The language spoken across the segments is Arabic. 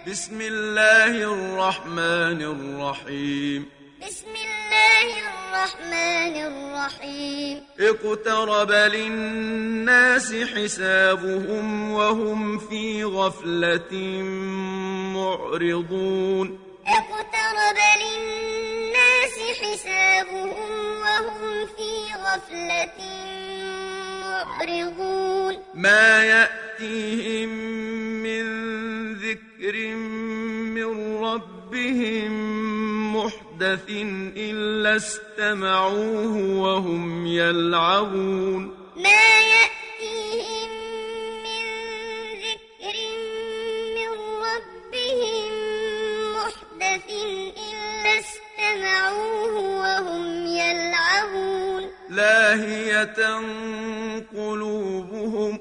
بسم الله الرحمن الرحيم بسم الله الرحمن الرحيم اقترب للناس حسابهم وهم في غفلة معرضون اقترب للناس حسابهم وهم في غفلة معرضون ما يأتيهم من ذكر من ربهم محدث إلا استمعوه وهم يلعبون ما يأتيهم من ذكر من ربهم محدث إلا استمعوه وهم يلعبون لاهية قلوبهم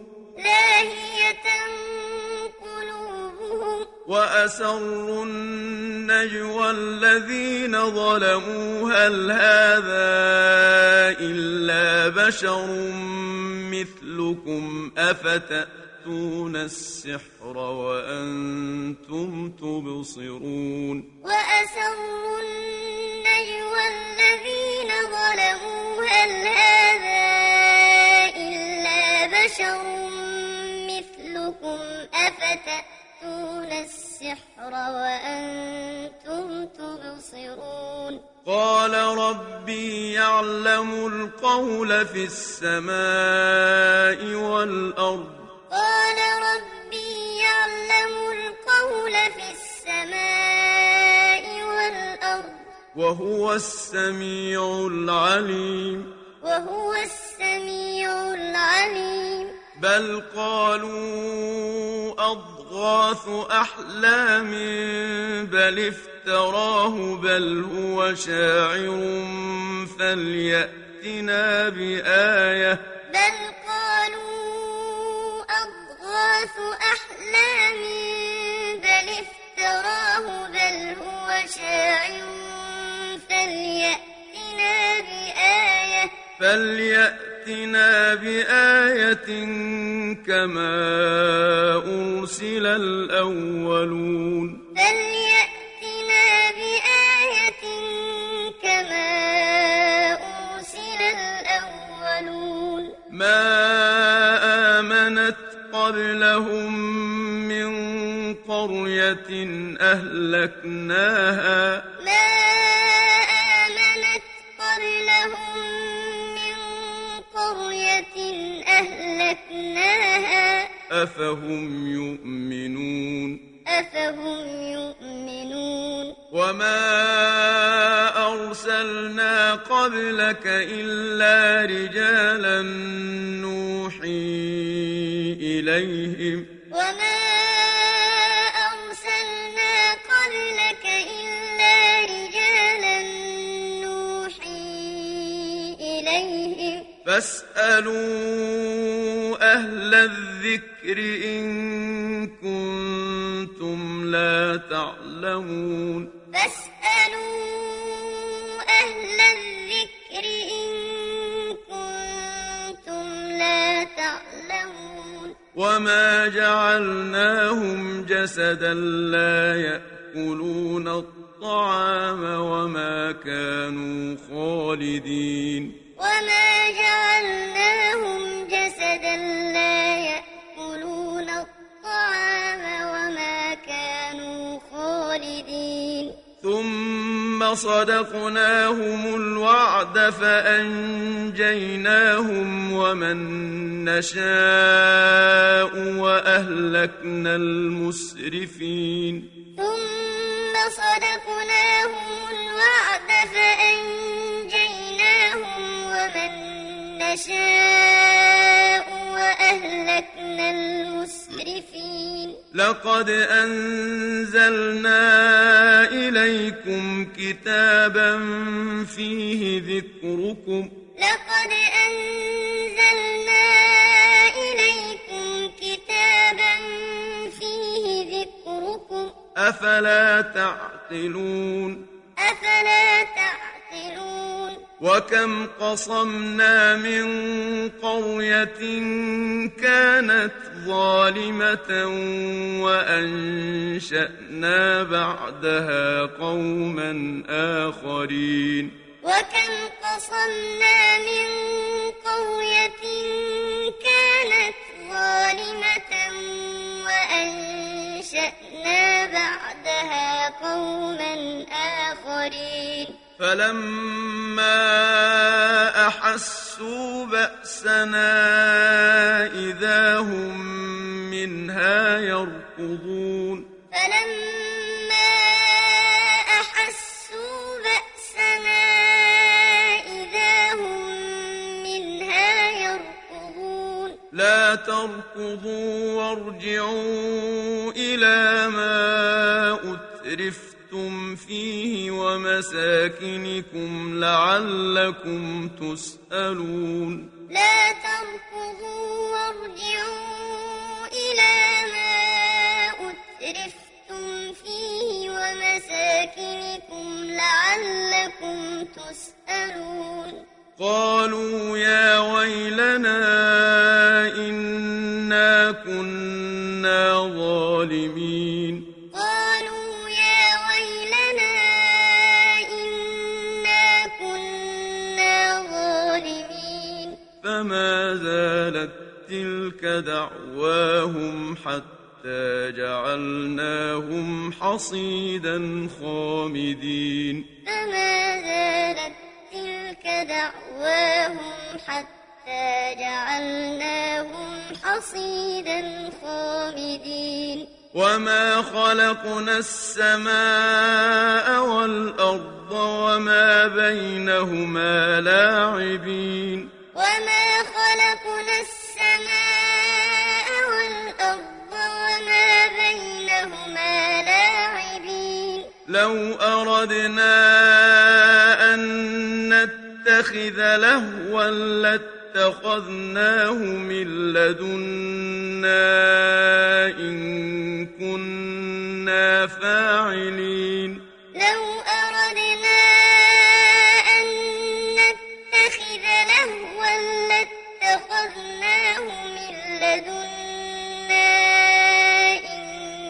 وأسروا النجوى الذين ظلموا هل هذا إلا بشر مثلكم أفتأتون السحر وأنتم تبصرون وأسروا النجوى الذين ظلموا هل هذا إلا بشر مثلكم أفتأتون السحر وأنتم تبصرون قال ربي يعلم القول في السماء والأرض قال ربي يعلم القول في السماء والأرض وهو السميع العليم بل قالوا أضغاث أحلام بل افتراه بل هو شاعر فليأتنا بآية بل قالوا أضغاث أحلام بل افتراه بل هو شاعر فليأتنا بآية كما أرسل الأولون ما آمنت قبلهم من قرية أهلكناها أفهم يؤمنون وما أرسلنا قبلك إلا رجالا نوحي إليهم فاسألوا أهل الذكر إن كنتم لا تعلمون وما جعلناهم جسدا لا يأكلون الطعام وما كانوا خالدين ثم صدقناهم الوعد فأنجيناهم ومن نشاء وأهلكنا المسرفين لقد أنزلنا إليكم كتابا فيه ذكركم أفلا تعقلون وكم قصمنا من قرية كانت ظالمة وأنشأنا بعدها قوما آخرين وكم قصمنا من قرية كانت ظالمة وأنشأنا بعدها قوما آخرين فلما أحسوا بأسنا إذا هم منها يركضون فلما أحسوا بأسنا إذا هم منها يركضون لا تركضوا وارجعوا إلى ما أترفتم فيه ومساكنكم لعلكم تسألون لا تركضوا وارجعوا إلى ما أترفتم فيه ومساكنكم لعلكم تسألون قالوا يا ويلنا إنا كنا ظالمين قالوا يا ويلنا إنا كنا ظالمين فما زالت تلك دعواهم حتى جعلناهم حصيدا خامدين فما زالت تلك دعواهم حتى جعلناهم حصيدا خامدين وما خلقنا السماء والأرض وما بينهما لاعبين وما خلقنا السماء والأرض وما بينهما لاعبين لو أردنا أن نتخذ لهوا لاتخذناه من لدنا إن كنا فاعلين لو أردنا أن نتخذ لهوا لاتخذناه من لدنا إن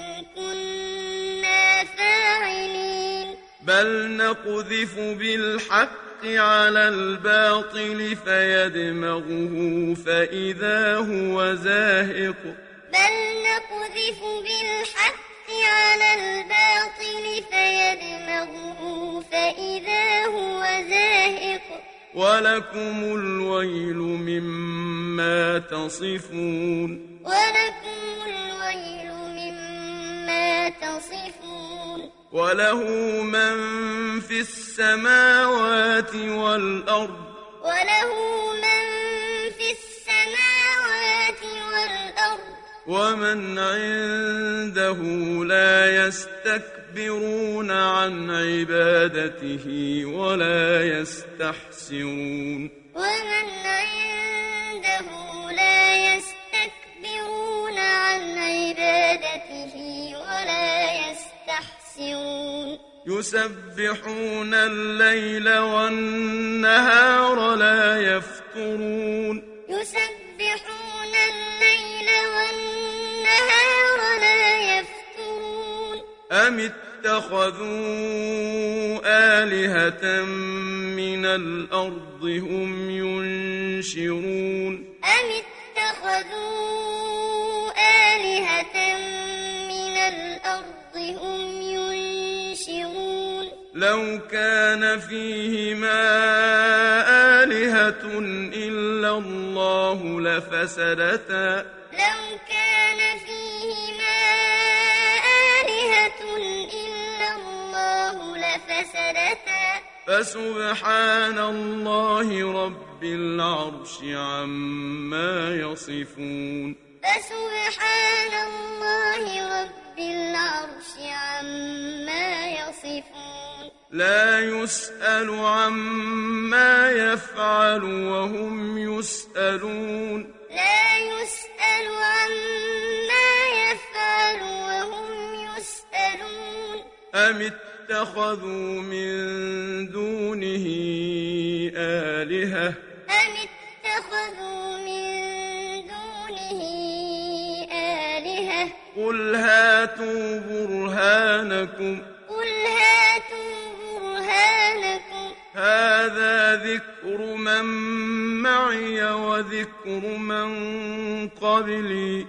كنا فاعلين بل نقذف بالحق على الباطل فيدمغه فإذا هو زاهق بل نقذف بالحق على الباطل فيدمغه فإذا هو زاهق ولكم الويل مما تصفون ولكم الويل مما تصفون وله من في السماوات والأرض وله من في السماوات والأرض ومن عنده لا يستكبرون عن عبادته ولا يستحسرون ومن عنده لا يستكبرون عن عبادته ولا يستحسرون يسبحون الليل والنهار لا يفترون يسبحون الليل والنهار لا يفترون أم اتخذوا آلهة من الأرض هم ينشرون أم اتخذوا آلهة من الأرض هم ينشرون لو كان فيهما آلهة إلا الله لفسدتا لو كان فيهما آلهة إلا الله لفسدتا فسبحان الله رب العرش عما يصفون فسبحان الله رب العرش عما يصفون لا يسأل عما يفعل وهم يسألون لا يسأل عما يفعل وهم يسألون أم اتخذوا من دونه آلهة قل هاتوا برهانكم هذا ذكر من معي وذكر من قبلي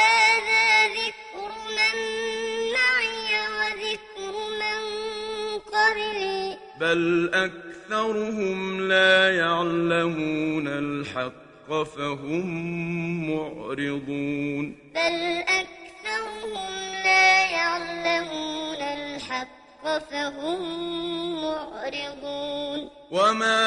بل أكثرهم لا يعلمون الحق فهم معرضون وما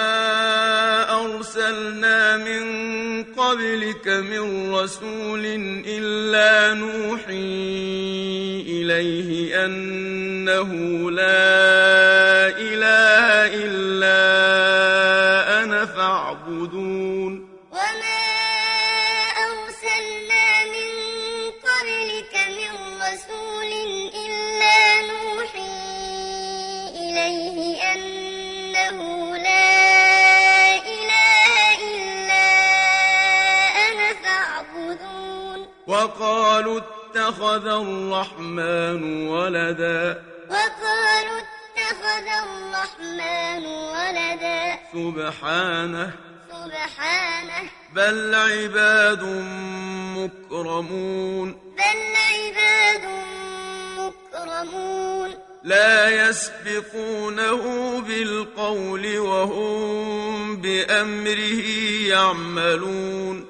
أرسلنا من قبلك من رسول إلا نوحي إليه أنه لا إله إلا أنا فاعبدون وقالوا اتخذ الرحمن ولدا سبحانه بل عباد مكرمون لا يسبقونه بالقول وهم بأمره يعملون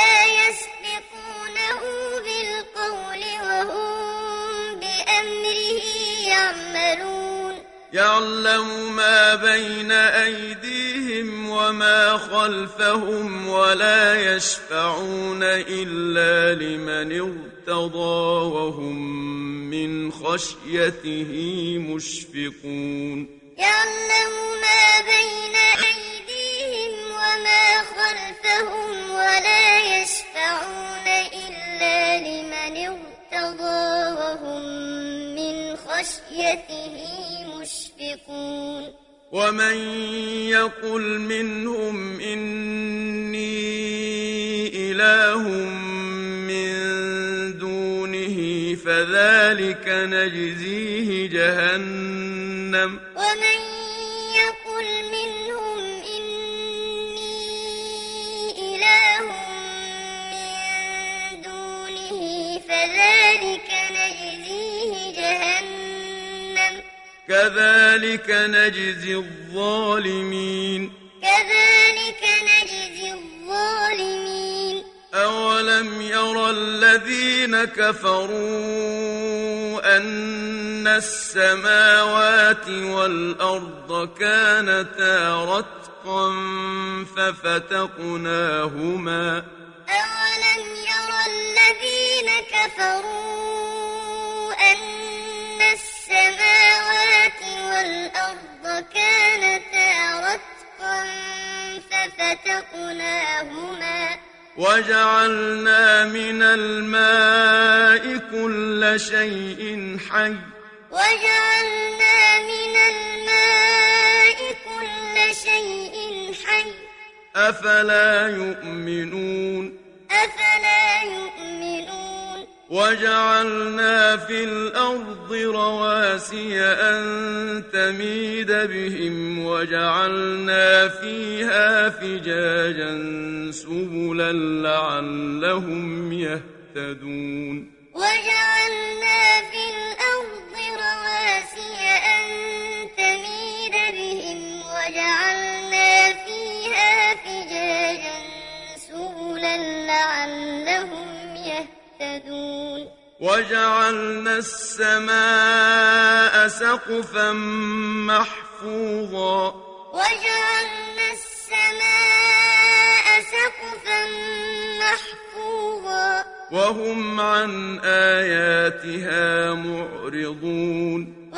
يعلم ما بين أيديهم وما خلفهم ولا يشفعون إلا لمن ارتضى وهم من خشيته مشفقون يعلم ما بين أيديهم وما خلفهم ولا يشفعون إلا لمن ارتضى وهم من خشيته مشفقون ومن يقل منهم إني إله من دونه فذلك نجزيه جهنم ومن يقل منهم إني إله من دونه فذلك نجزيه جهنم كذلك نجزي الظالمين أولم يرى الذين كفروا أن السماوات والأرض كانتا رتقا ففتقناهما أولم يرى الذين كفروا أن السماوات والأرض كانتا رتقا ففتقناهما وجعلنا من الماء كل شيء حي أفلا يؤمنون وجعلنا في الأرض رواسي أن تميد بهم وجعلنا فيها فجاجا سبلا لعلهم يهتدون وجعلنا في الأرض رواسي أن تميد بهم وجعلنا فيها فجاجا سبلا لعلهم يهتدون وجعلنا السماء سقفا محفوظا وهم عن آياتها معرضون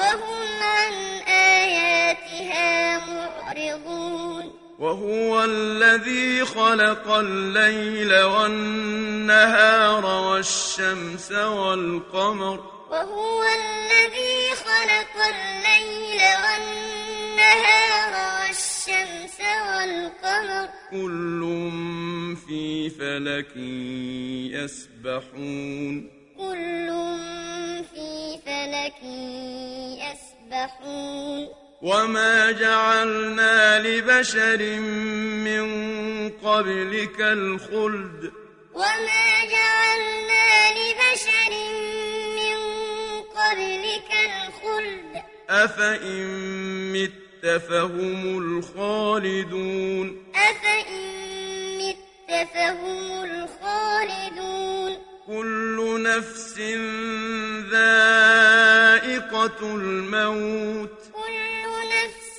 وهو الذي خلق الليل والنهار والشمس والقمر وهو الذي خلق الليل والنهار والشمس والقمر كل في فلك يسبحون كل في فلك يسبحون وما جعلنا لبشر من قبلك الخلد وما جعلنا لبشر من قبلك الخلد أفإن مت فهم الخالدون أفإن مت فهم الخالدون كل نفس ذائقة الموت كل نفس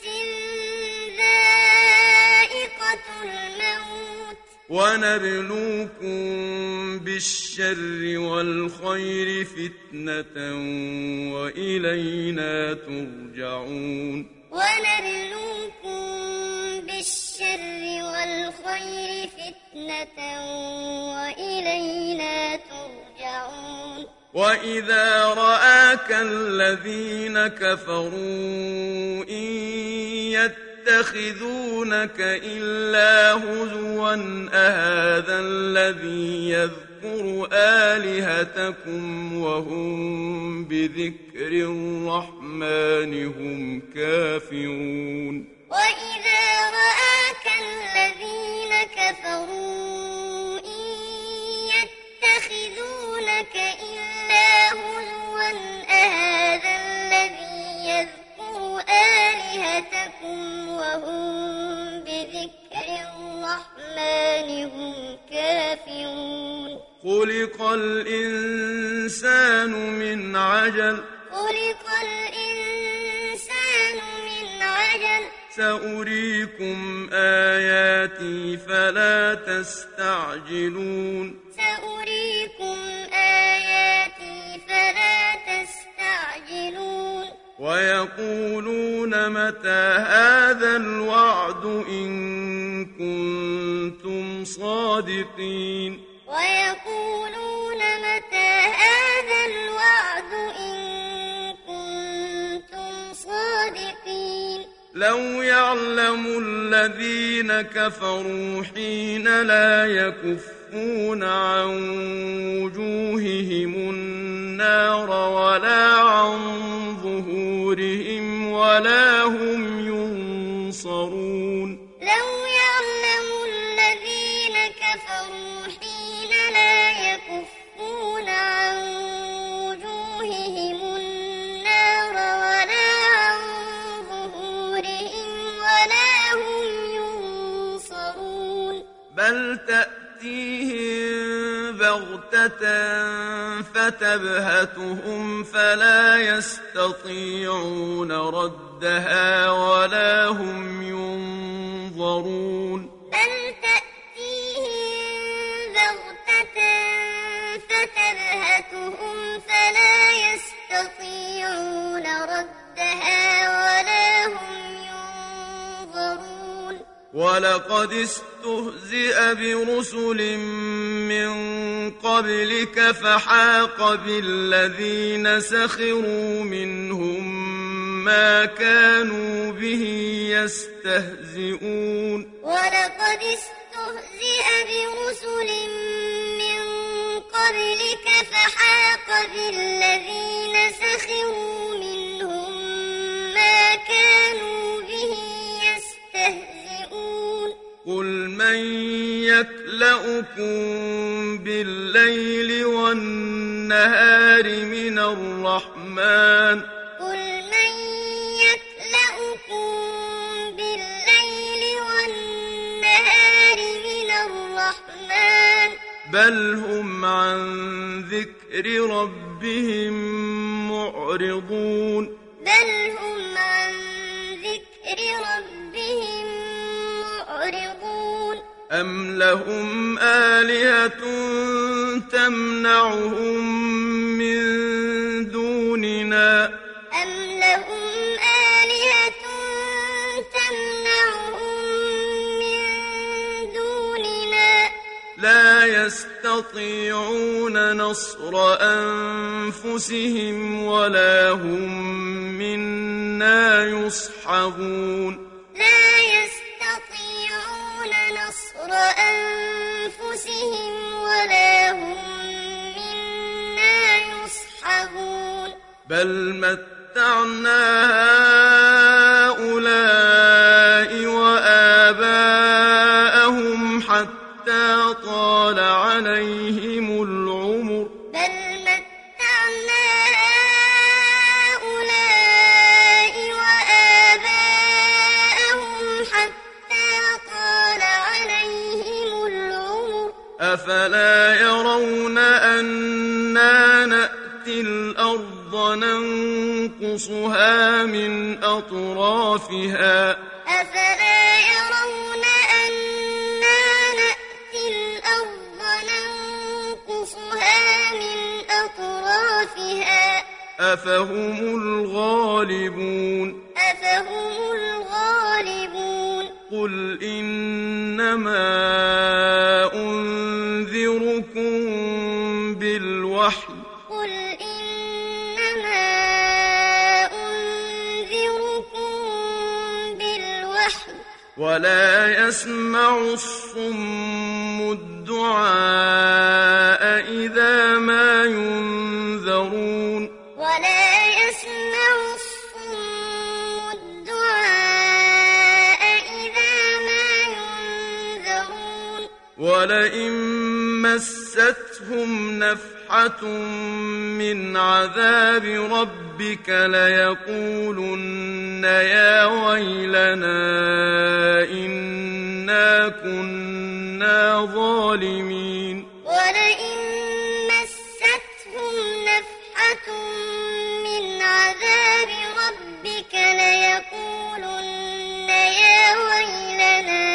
ذائقة الموت ونبلوكم بالشر والخير فتنة وإلينا ترجعون ونبلوكم بالشر والخير فتنة وإلينا ترجعون وإذا رآك الذين كفروا إن يتخذونك إلا هزوا أهذا الذي يذكر آلهتكم وهم بذكر الرحمن هم كافرون وإذا رآك الذين كفروا إن يتخذونك إلا هزوا أهذا الذي يذكر آلهتكم وهم بذكر الرحمن هم كافرون خلق الإنسان من عجل خلق الإنسان من عجل سأريكم آياتي فلا تستعجلون سأريكم آياتي فلا تستعجلون ويقولون متى هذا الوعد إن كنتم صادقين ويقولون متى هذا الوعد إن كنتم صادقين لو يعلم الذين كفروا حين لا يكفون عن وجوههم النار ولا عن ظهورهم ولا هم ينصرون لو يعلم الذين كفروا حين لا يكفون عن وجوههم النار ولا عن ظهورهم ولا هم ينصرون بل تأتيهم بغتة فتبهتهم فلا يستطيعون ردها ولا هم ينظرون بل تأتيهم بغتة فتبهتهم فلا يستطيعون ردها ولا هم ينظرون ولقد استهزئ برسل من قبلك فحاق بالذين سخروا منهم ما كانوا به يستهزئون ولقد استهزئ برسل من قبلك فحاق بالذين سخروا منهم ما كانوا به يستهزئون قل من يكلؤكم بالليل والنهار من الرحمن قل من يكلؤكم بالليل والنهار من الرحمن بل هم عن ذكر ربهم معرضون بل هم عن ذكر ربهم معرضون أم لهم آلهة تمنعهم من دوننا أم لهم آلهة تمنعهم من دوننا لا يستطيعون نصر أنفسهم ولا هم منا أنا يصحبون لا يستطيعون نصر أنفسهم ولا هم منا يصحبون بل متعنا هؤلاء وآباءهم حتى طال عليهم العمر بل متعنا هؤلاء وآباءهم حتى طال عليهم العمر أفلا يرون أنا نأتي الأرض ننقصها من أطرافها أفلا يرون أنا نأتي الأرض ننقصها من أطرافها أفهم الغالبون أفهم الغالبون قل إنما أنذركم بالوحي قل إنما أنذركم بالوحي ولا يسمع الصم الدعاء إذا ما ينذرون ولا يسمع الصم الدعاء إذا ما ينذرون ولئن مستهم نفحة من عذاب ربك ليقولن يا ويلنا إنا كنا ظالمين ولئن مستهم نفحة من عذاب ربك ليقولن يا ويلنا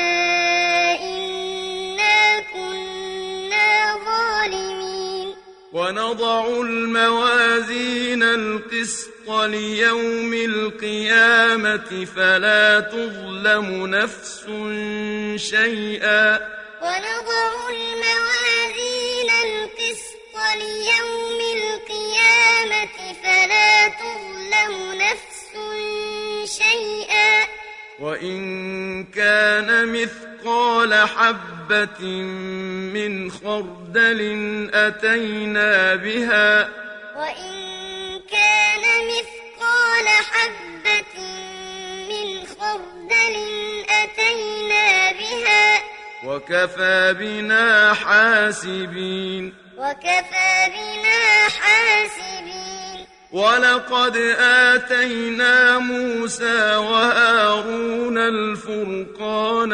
إنا كنا ظالمين ونضع الموازين القسط ليوم القيامة فلا تظلم نفس شيئا ونضع الموازين القسط ليوم القيامة فلا تظلم نفس شيئا وإن كان مثقال حبة من خردل أتينا بها وإن كان مثقال حبة من خردل أتينا بها وكفى بنا حاسبين وكفى بنا حاسبين ولقد آتينا موسى وهارون الفرقان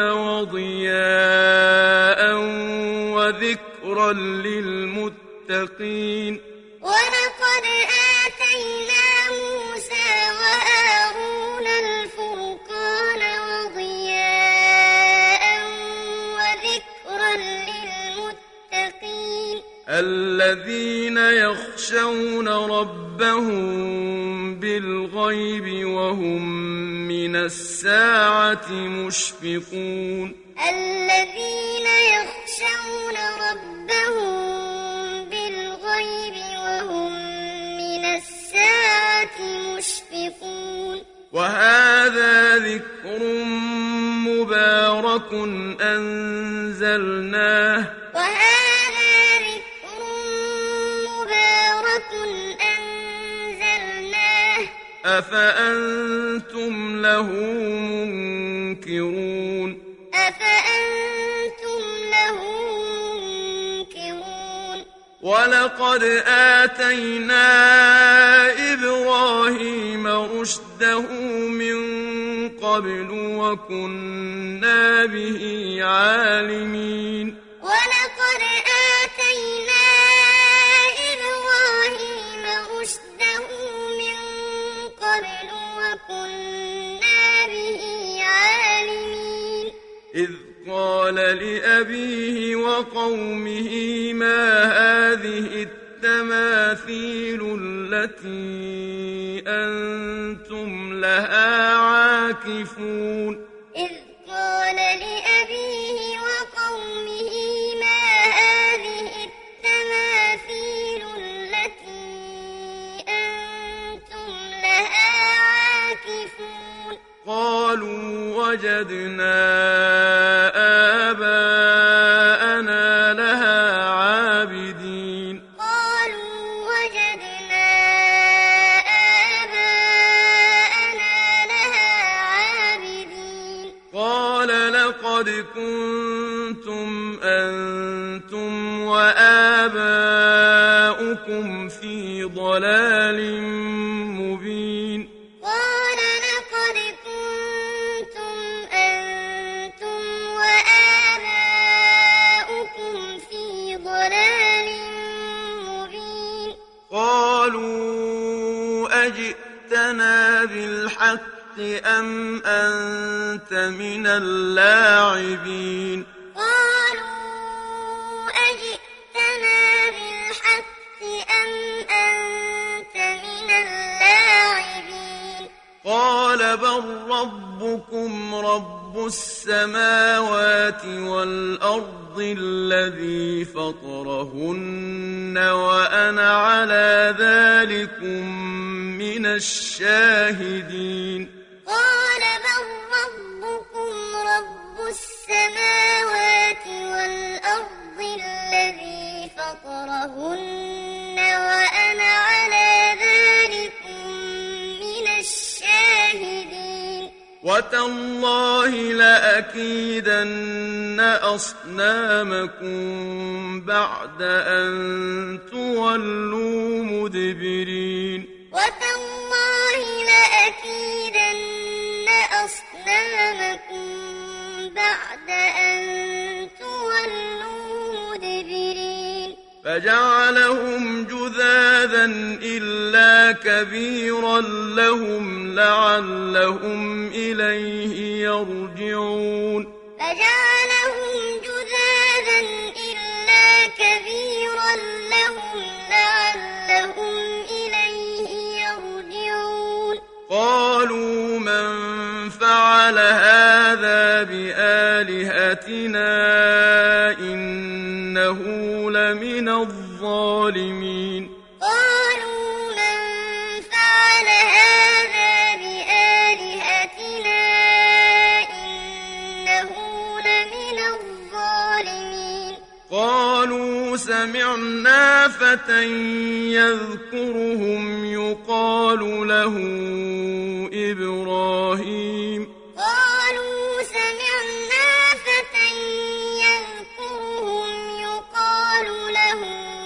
وضياء وذكرا للمتقين ولقد آتينا موسى وهارون الفرقان وضياء وذكرا للمتقين الذين يخشون ربهم بالغيب وهم من الساعة مشفقون الذين يخشون ربهم بالغيب وهم من الساعة مشفقون وهذا ذكر مبارك أنزلناه وهذا ذكر مبارك أنزلناه أفأنتم له منكرون أفأنتم له منكرون ولقد آتينا إبراهيم رشده من قبل وكنا به عالمين ولقد آتينا إبراهيم رشده من قبل وكنا به عالمين إذ قال لأبيه وقومه ما هذه التماثيل التي أنتم لها عاكفون إذ قال لأبيه وقومه ما هذه التماثيل التي أنتم لها عاكفون قالوا وجدنا آباءنا لها عابدين قالوا وجدنا آباءنا لها عابدين قال لقد كنتم أنتم وآباؤكم في ضلال مبين قال لقد كنتم أنتم وآباؤكم في ضلال مبين قالوا أجئتنا بالحق أم أنت من اللاعبين قالوا أجئتنا بالحق أم أنت من اللاعبين قال بل ربكم رب السماوات والأرض الذي فطرهن وأنا على ذلكم من الشاهدين قال بل ربكم رب السماوات والأرض الذي فطرهن وأنا على ذلكم من الشاهدين وتالله لأكيدن أصنامكم بعد أن تولوا مدبرين وتالله لأكيدن أصنامكم بعد أن تولوا مدبرين فجعلهم جذاذا إلا كبيرا لهم لعلهم إليه يرجعون فجعلهم جذاذا إلا كبيرا لهم لعلهم إليه يرجعون قالوا من فعل هذا بآلهتنا إنه لمن الظالمين قالوا من فعل هذا بآلهتنا إنه لمن الظالمين قالوا سمعنا فتى يذكرهم يقال له إبراهيم قالوا سمعنا فتى يذكرهم يقال له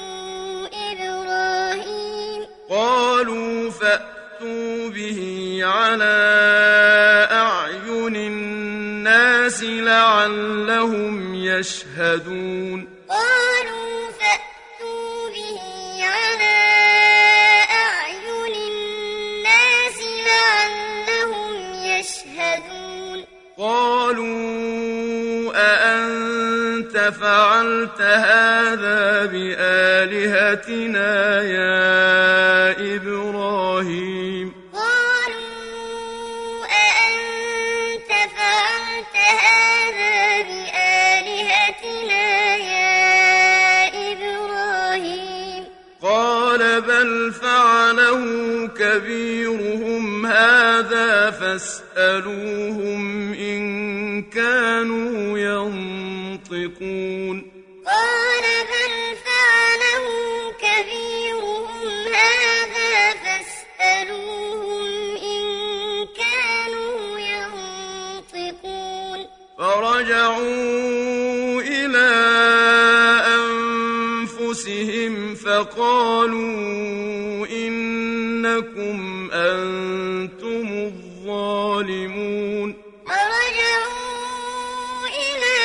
إبراهيم قالوا فأتوا به على أعين الناس لعلهم يشهدون قالوا فأتوا به على أعين الناس لعلهم يشهدون قالوا أأنت فعلت هذا بآلهتنا يا إبراهيم قالوا أأنت فعلت هذا بآلهتنا يا إبراهيم قال بل فعله كبيرهم هذا فاسألوهم إن كانوا ينطقون قال بل فعله كبيرهم هذا فاسألوهم إن كانوا ينطقون فرجعوا إلى أنفسهم فقالوا إنكم أنتم الظالمون فرجعوا إلى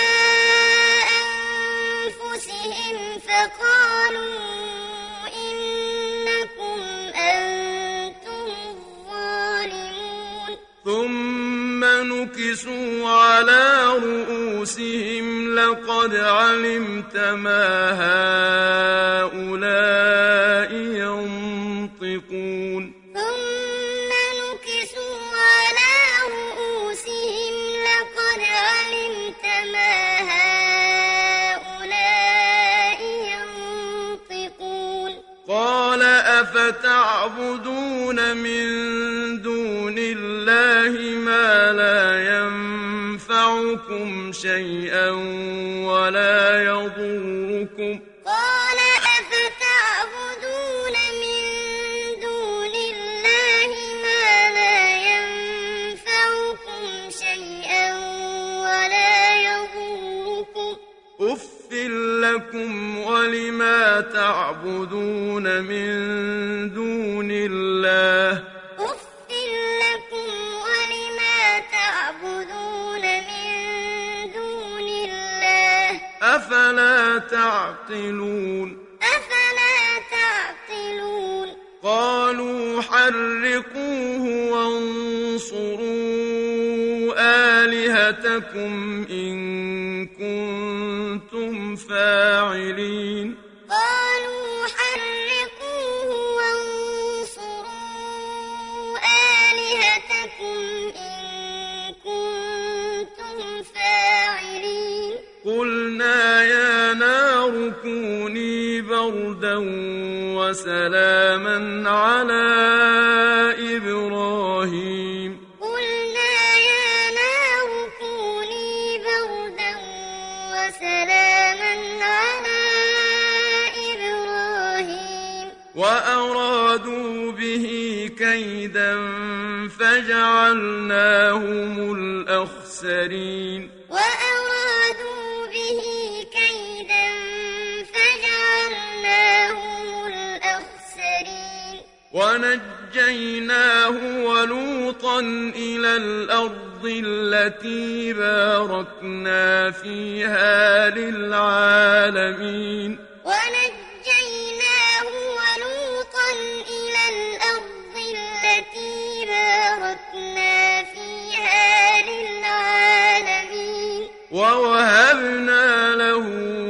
أنفسهم فقالوا إنكم أنتم الظالمون ثم نكسوا على رؤوسهم لقد علمت ما هؤلاء ينطقون ثم نكسوا على رؤوسهم لقد علمت ما هؤلاء ينطقون قال أفتعبدون من دون الله ما ينفعكم شيئا ولا يضركم قال أفتعبدون من دون الله ما لا ينفعكم شيئا ولا يضركم أف لكم ولما تعبدون من دون الله أف لكم ولما تعبدون من دون الله أفلا تعقلون أفلا تعقلون قالوا حرقوه وانصروا آلهتكم إن كنتم فاعلين قالوا حرقوه وانصروا آلهتكم إن كنتم فاعلين قلنا يا نار كوني بردا وسلاما على إبراهيم قلنا يا نار كوني بردا وسلاما على إبراهيم وأرادوا به كيدا فجعلناهم الأخسرين وأرادوا به كيدا فجعلناهم الأخسرين ونجيناه ولوطا إلى الأرض التي باركنا فيها للعالمين ونجيناه ولوطا إلى الأرض التي باركنا فيها للعالمين ووهبنا له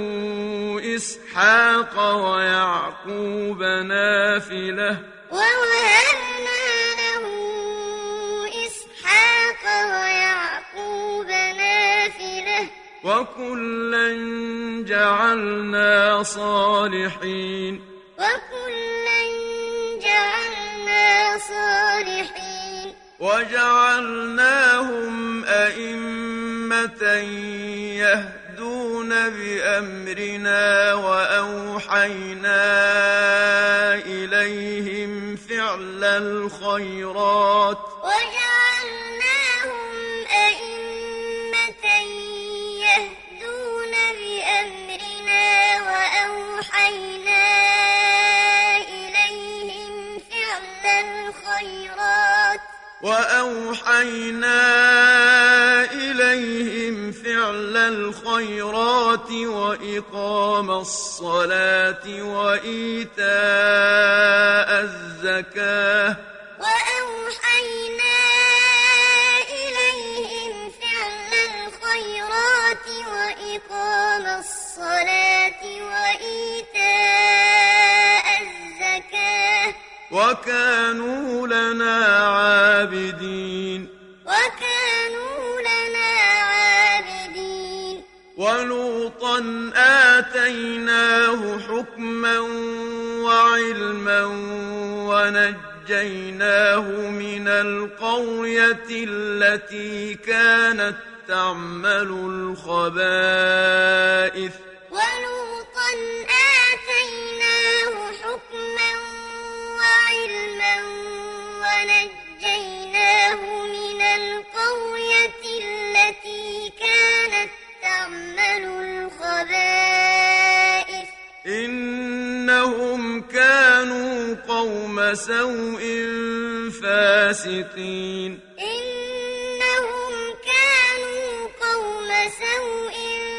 إسحاق ويعقوب نافلة ووهبنا له إسحاق ويعقوب نافلة وكلا جعلنا صالحين وكلا جعلنا صالحين وجعلناهم أئمة يهدون بأمرنا وأوحينا إليهم فعل الخيرات وجعلناهم أئمة يهدون بأمرنا وأوحينا إليهم فعل الخيرات وإقام الصلاة وإيتاء الزكاة وأوحينا إليهم فعل الخيرات وإقام الصلاة وإيتاء الزكاة وكانوا لنا عابدين وكانوا لنا عابدين ولوطا آتيناه حكما وعلما ونجيناه من القرية التي كانت تعمل الخبائث ولوطا آتيناه حكما وعلما ونجيناه من القرية التي كانت تعمل الخبائث إنهم كانوا قوم سوء فاسقين إنهم كانوا قوم سوء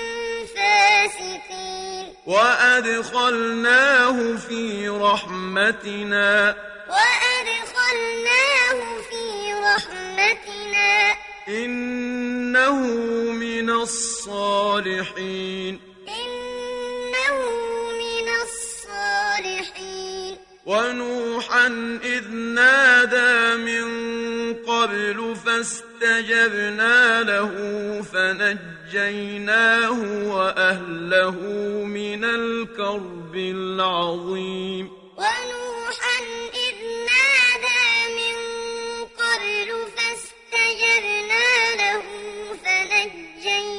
فاسقين وأدخلناه في رحمتنا وأدخلناه في رحمتنا إنه من الصالحين إنه من الصالحين ونوحا إذ نادى من قبل فاستجبنا له فنجيناه وأهله من الكرب العظيم ونوحا إذ نادى من قبل فاستجبنا له فنجيناه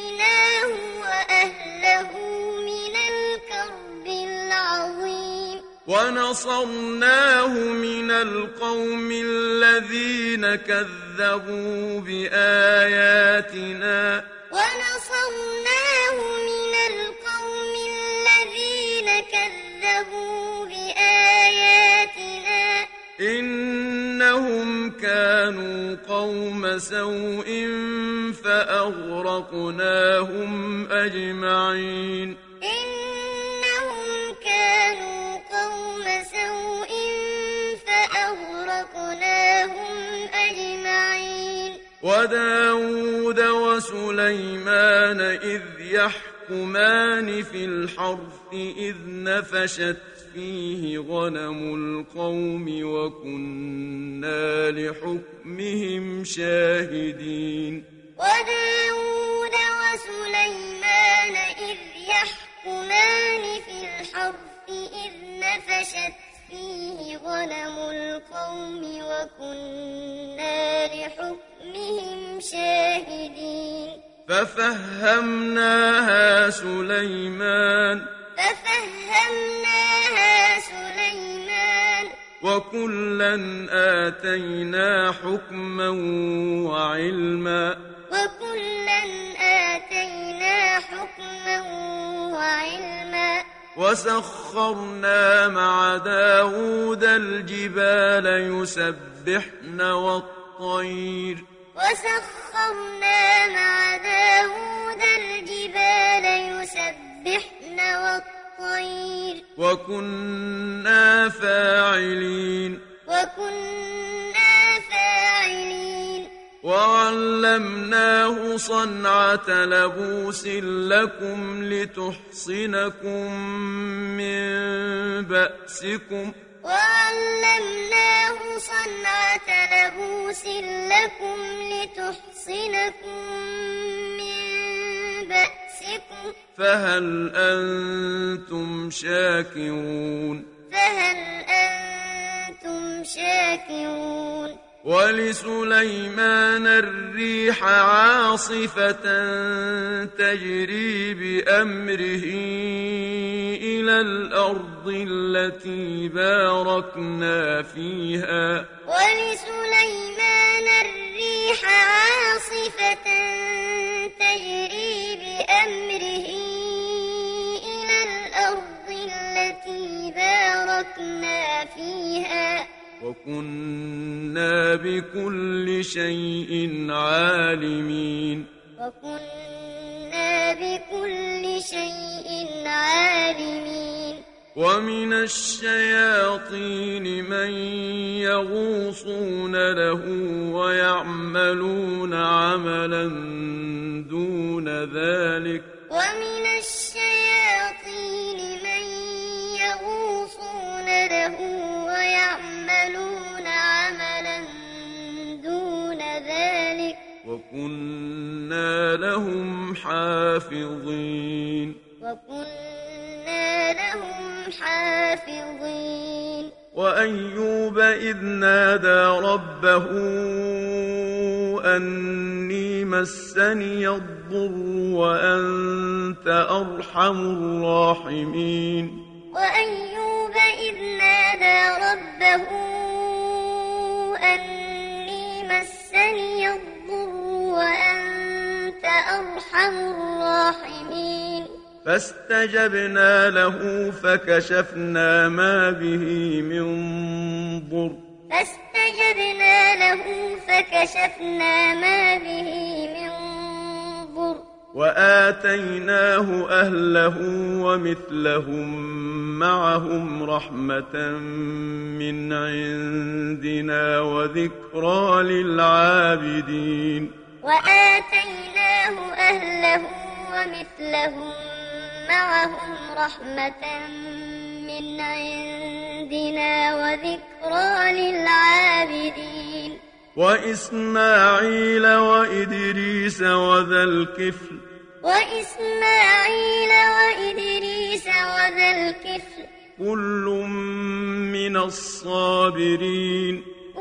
ونصرناه من القوم الذين كذبوا بآياتنا ونصرناه من القوم الذين كذبوا بآياتنا إنهم كانوا قوم سوء فأغرقناهم أجمعين إنهم كانوا قوم سوء فأغرقناهم أجمعين وداود وسليمان إذ يحكمان في الحرث إذ نفشت فيه غنم القوم وكنا لحكمهم شاهدين وداود وسليمان إذ يحكمان في الحرث إذ نفشت فيه غنم القوم وكنا لحكمهم شاهدين ففهمناها سليمان وكلا آتينا حكما وعلما وسخرنا مع داود الجبال يسبحن والطير وكنا فاعلين وعلمناه صنعة لبوس لكم لتحصنكم من بأسكم فهل أنتم شاكرون ولسليمان الريح عاصفة تجري بأمره إلى الأرض التي باركنا فيها وكنا بكل شيء عالمين ومن الشياطين من يغوصون له ويعملون عملا دون ذلك وكنا لهم حافظين وأيوب إذ نادى ربه أني مسني الضر وأنت أرحم الراحمين فاستجبنا له فكشفنا ما به من ضر وآتيناه أهله ومثلهم معهم رحمة من عندنا وذكرى للعابدين وآتيناه أهله ومثلهم معهم رحمة من عندنا وذكرى للعابدين وإسماعيل وإدريس وذا الكفل كل من الصابرين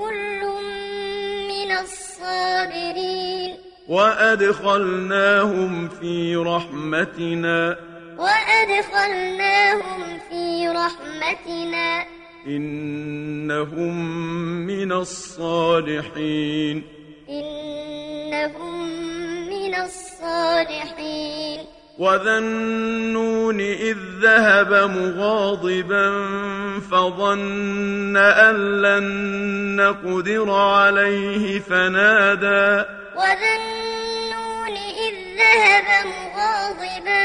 وأدخلناهم في رحمتنا إنهم من الصالحين إنهم من الصالحين وذا النون إذ ذهب مغاضبا فظن أن لن نقدر عليه فنادى وذا النون إذ ذهب مغاضبا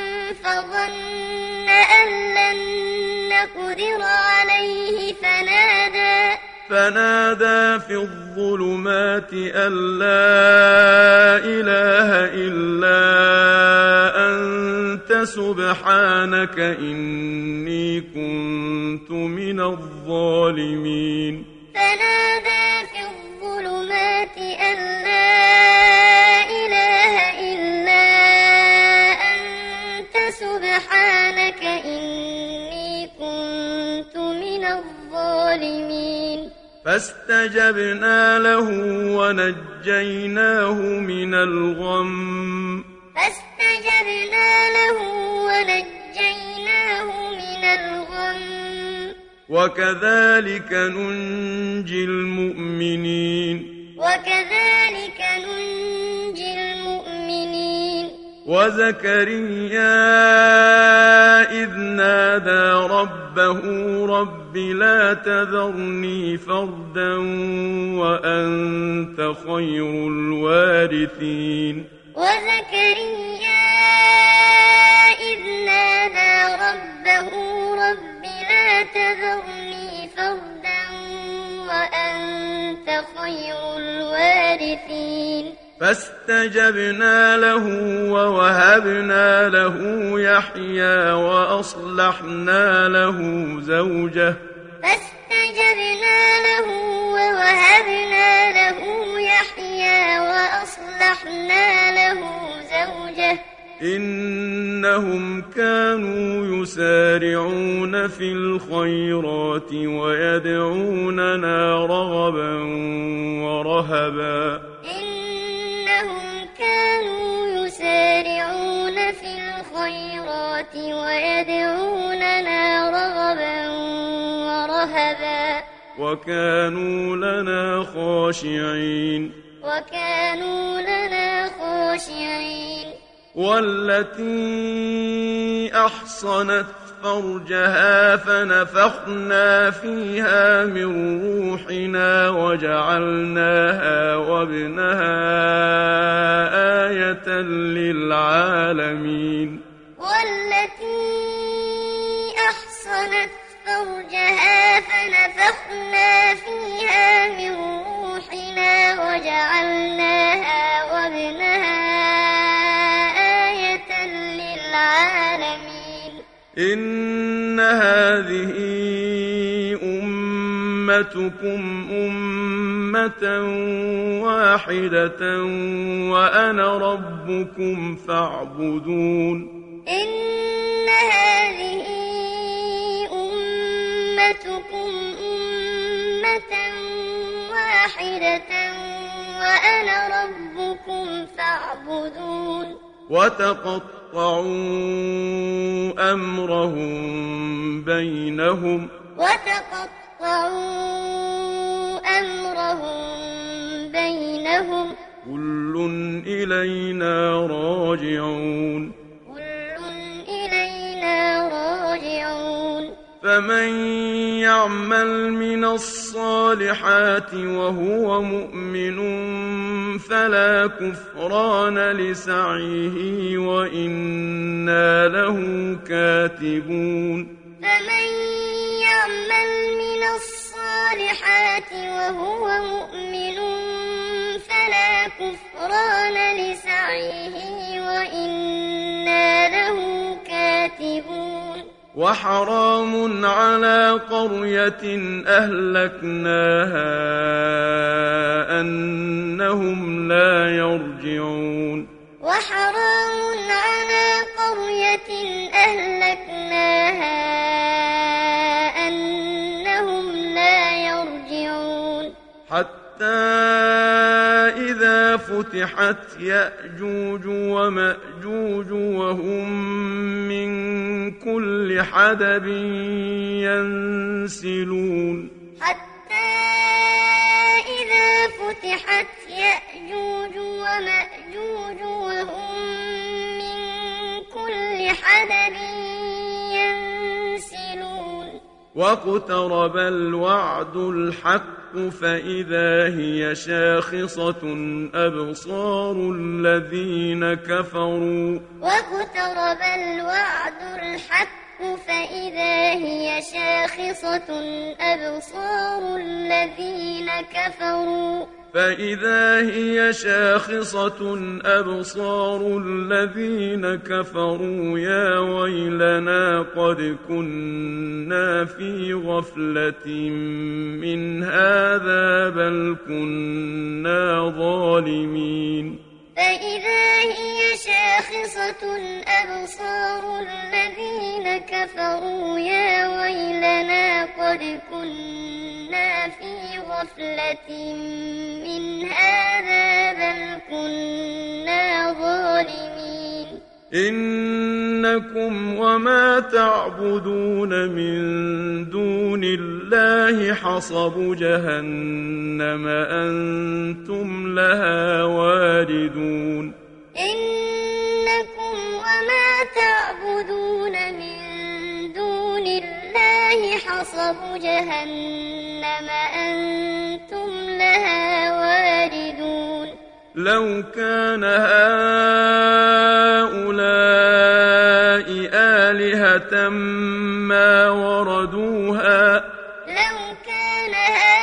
فظن أن لن نقدر عليه فنادى في الظلمات أن لا إله إلا أنت سبحانك إني كنت من الظالمين فنادى في الظلمات أن لا إله إلا أنت سبحانك إني كنت من الظالمين فاستجبنا له ونجيناه من الغم وكذلك ننجي المؤمنين وزكريا إذ نادى ربه رب لا تذرني فردا وأنت خير الوارثين وزكريا إذ نادى ربه رب لا تذرني فردا وأنت خير الوارثين فاستجبنا له ووهبنا له يحيى وأصلحنا له زوجه إنهم كانوا يسارعون في الخيرات ويدعوننا رغبا ورهبا وكانوا لنا خاشعين والتي أحصنت فرجها فنفخنا فيها من روحنا وجعلناها وابنها آية للعالمين والتي أحصنت فرجها فنفخنا فيها من روحنا وجعلناها وابنها آية للعالمين إن هذه أمتكم أمة واحدة وأنا ربكم فاعبدون إن هذه أمتكم أمة واحدة وأنا ربكم فاعبدون وتقطعوا أمرهم بينهم كل إلينا راجعون فمن يعمل من الصالحات وهو مؤمن فلا كفران لسعيه وإنا له كاتبون فمن يعمل من الصالحات وهو مؤمن فلا كفران لسعيه وإنا له كاتبون وحرام على قرية أهلكناها أنهم لا يرجعون وحرام على قرية أهلكناها أنهم لا يرجعون حتى إذا فتحت يأجوج ومأجوج وهم من كل حدب ينسلون حتى إذا فتحت يأجوج ومأجوج وهم من كل حدب ينسلون واقترب الوعد الحق فإذا هي شاخصة أبصار الذين كفروا واقترب الوعد الحق فإذا هي شاخصة أبصار الذين كفروا فإذا هي شاخصة أبصار الذين كفروا يا ويلنا قد كنا في غفلة من هذا بل كنا ظالمين فإذا هي شاخصة أبصار الذين كفروا يا ويلنا قد كنا في غفلة من هذا بل كنا ظالمين إنكم وما تعبدون من دون الله حصب جهنم أنتم لها واردون إنكم وما تعبدون من دون الله حصب جهنم أنتم لها واردون لو كان هؤلاء آلهة ما وردوها لو كان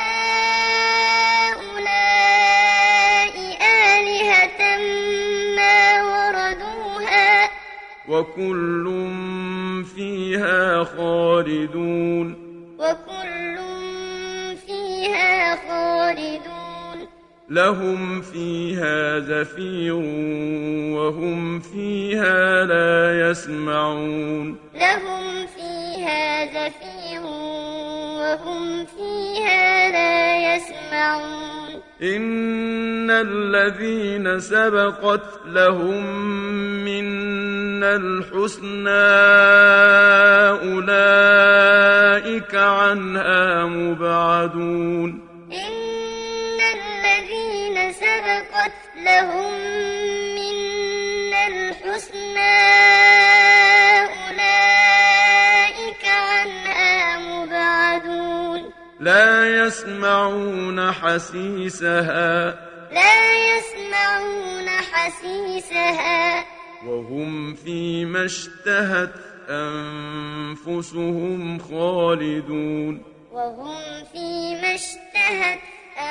هؤلاء آلهة ما وردوها وكل فيها خالدون وكل فيها خالدون لهم فيها زفير وهم فيها لا يسمعون لهم فيها زفير وهم فيها لا يسمعون إن الذين سبقت لهم منا الحسنى أولئك عنها مبعدون إن الذين سبقت لهم منا الحسنى أولئك عنها مبعدون لا يسمعون حسيسها لا يسمعون حسيسها وهم فيما اشتهت أنفسهم خالدون وهم فيما اشتهت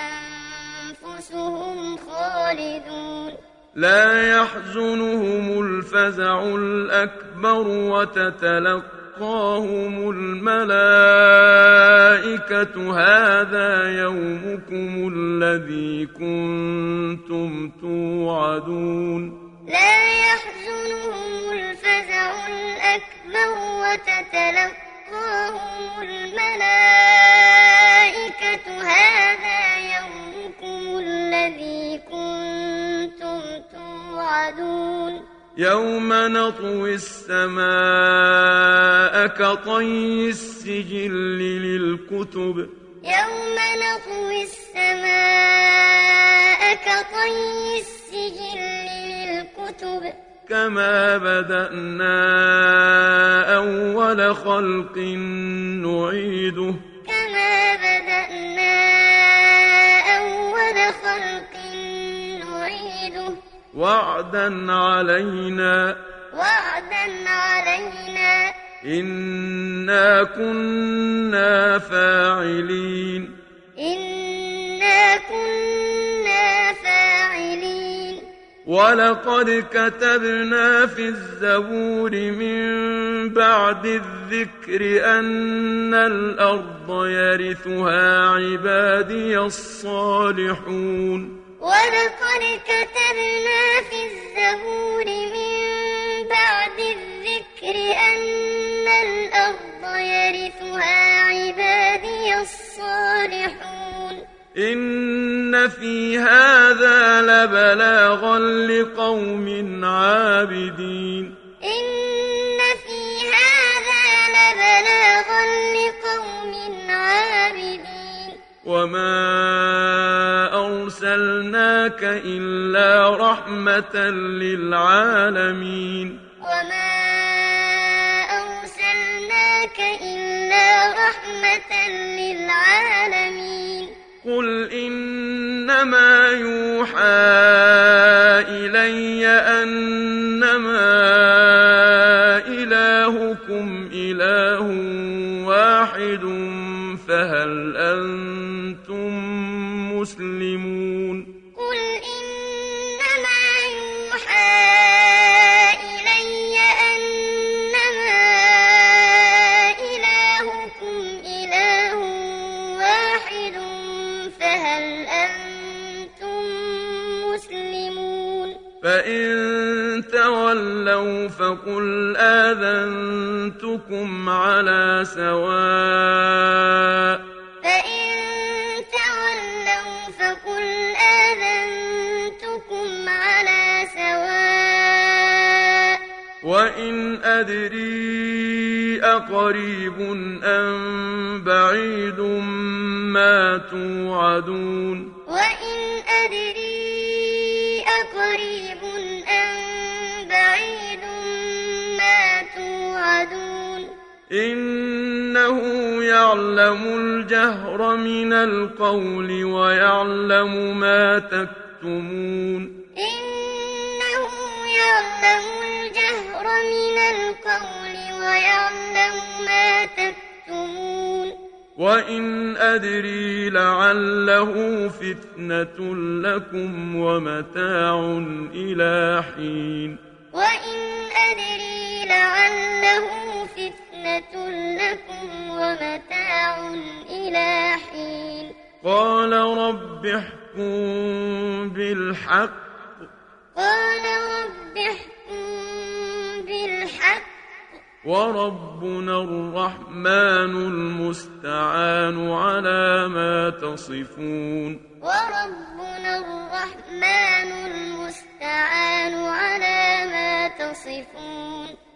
أنفسهم خالدون لا يحزنهم الفزع الأكبر وتتلقاهم الملائكة هذا يومكم الذي كنتم توعدون لا يحزنهم الفزع الأكبر وتتلقاهم الملائكة هذا يومكم الذي كنتم توعدون يوم نطوي السماء كطي السجل للكتب يوم نطوي السماء كطي السجل للكتب كما بدأنا أول خلق نعيده كما بدأنا أول خلق نعيده وعدا علينا إنا كنا فاعلين إنا كنا فاعلين ولقد كتبنا في الزبور من بعد الذكر أن الأرض يرثها عبادي الصالحون ولقد كتبنا في الزبور من بعد الذكر أن الأرض يرثها عبادي الصالحون إن في هذا لبلاغا لقوم عابدين إن في هذا لبلاغا لقوم عابدين وما أرسلناك إلا رحمة للعالمين وما أرسلناك إلا رحمة للعالمين قل إنما يوحى إلي أنما إلهكم إله واحد فهل أنتم مسلمون قل إنما يوحى إلي أنما إلهكم إله واحد فهل أنتم مسلمون فإن تولوا فقل آذنتكم على سواء فإن تولوا فقل آذنتكم على سواء وإن أدري أقريب أم بعيد ما توعدون وإن أدري أقريب أم بعيد ما توعدون إنه يعلم الجهر من القول ويعلم ما تكتمون إنه يعلم الجهر من القول ويعلم ما تكتمون وإن أدري لعله فتنة لكم ومتاع إلى حين وإن أدري لعله فتنة لكم ومتاع إلى حين قال رب احكم بالحق قال رب احكم بالحق وربنا الرحمن المستعان على ما تصفون وربنا الرحمن المستعان على ما تصفون